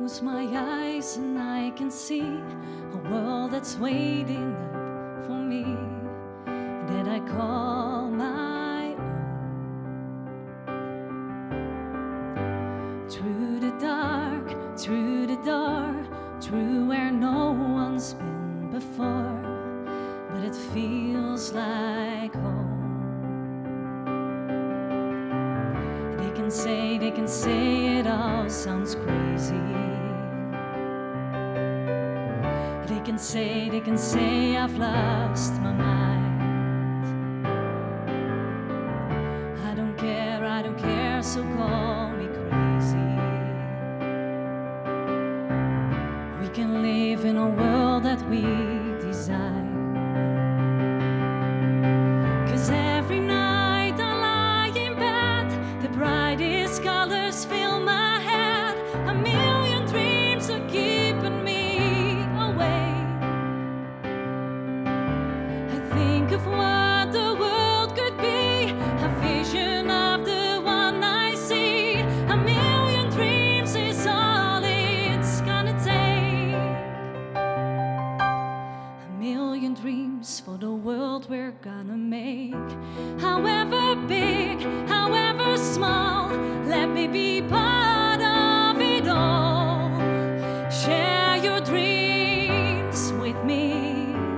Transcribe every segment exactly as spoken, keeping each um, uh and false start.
close my eyes and I can see a world that's waiting up for me, that I call my own. Through the dark, through the door, through where no one's been before, but it feels like home. They can say, they can say it all sounds crazy. They can say, they can say I've lost my mind. I don't care, I don't care, so call me crazy. We can live in a world that we desire. 'Cause every night I lie in bed, the brightest colors fill my head. A million dreams are keeping me awake. I think of what the world could be, a vision of the one I see. A million dreams is all it's gonna take. A million dreams for the world we're gonna make. However big, however small, let me be part of it all. Share your dreams with me.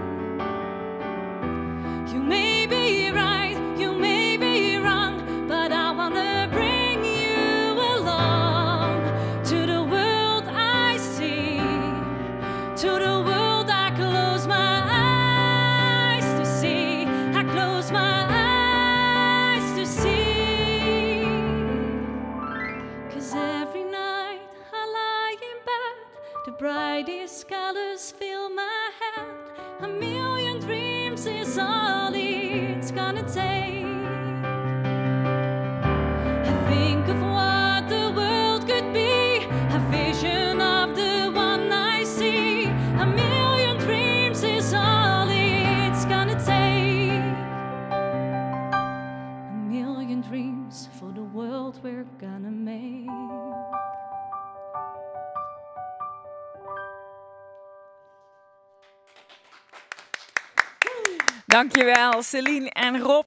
You may be right, you may be wrong, but I wanna bring you along to the world I see, to the world I close my eyes to see. I close my eyes to see. 'Cause every night I lie in bed, the brightest colors fill my head. A million dreams is all it's gonna take. I think of what the world could be, a vision of the one I see. A million dreams is all it's gonna take. A million dreams for the world we're gonna make. Dankjewel, Celine en Rob.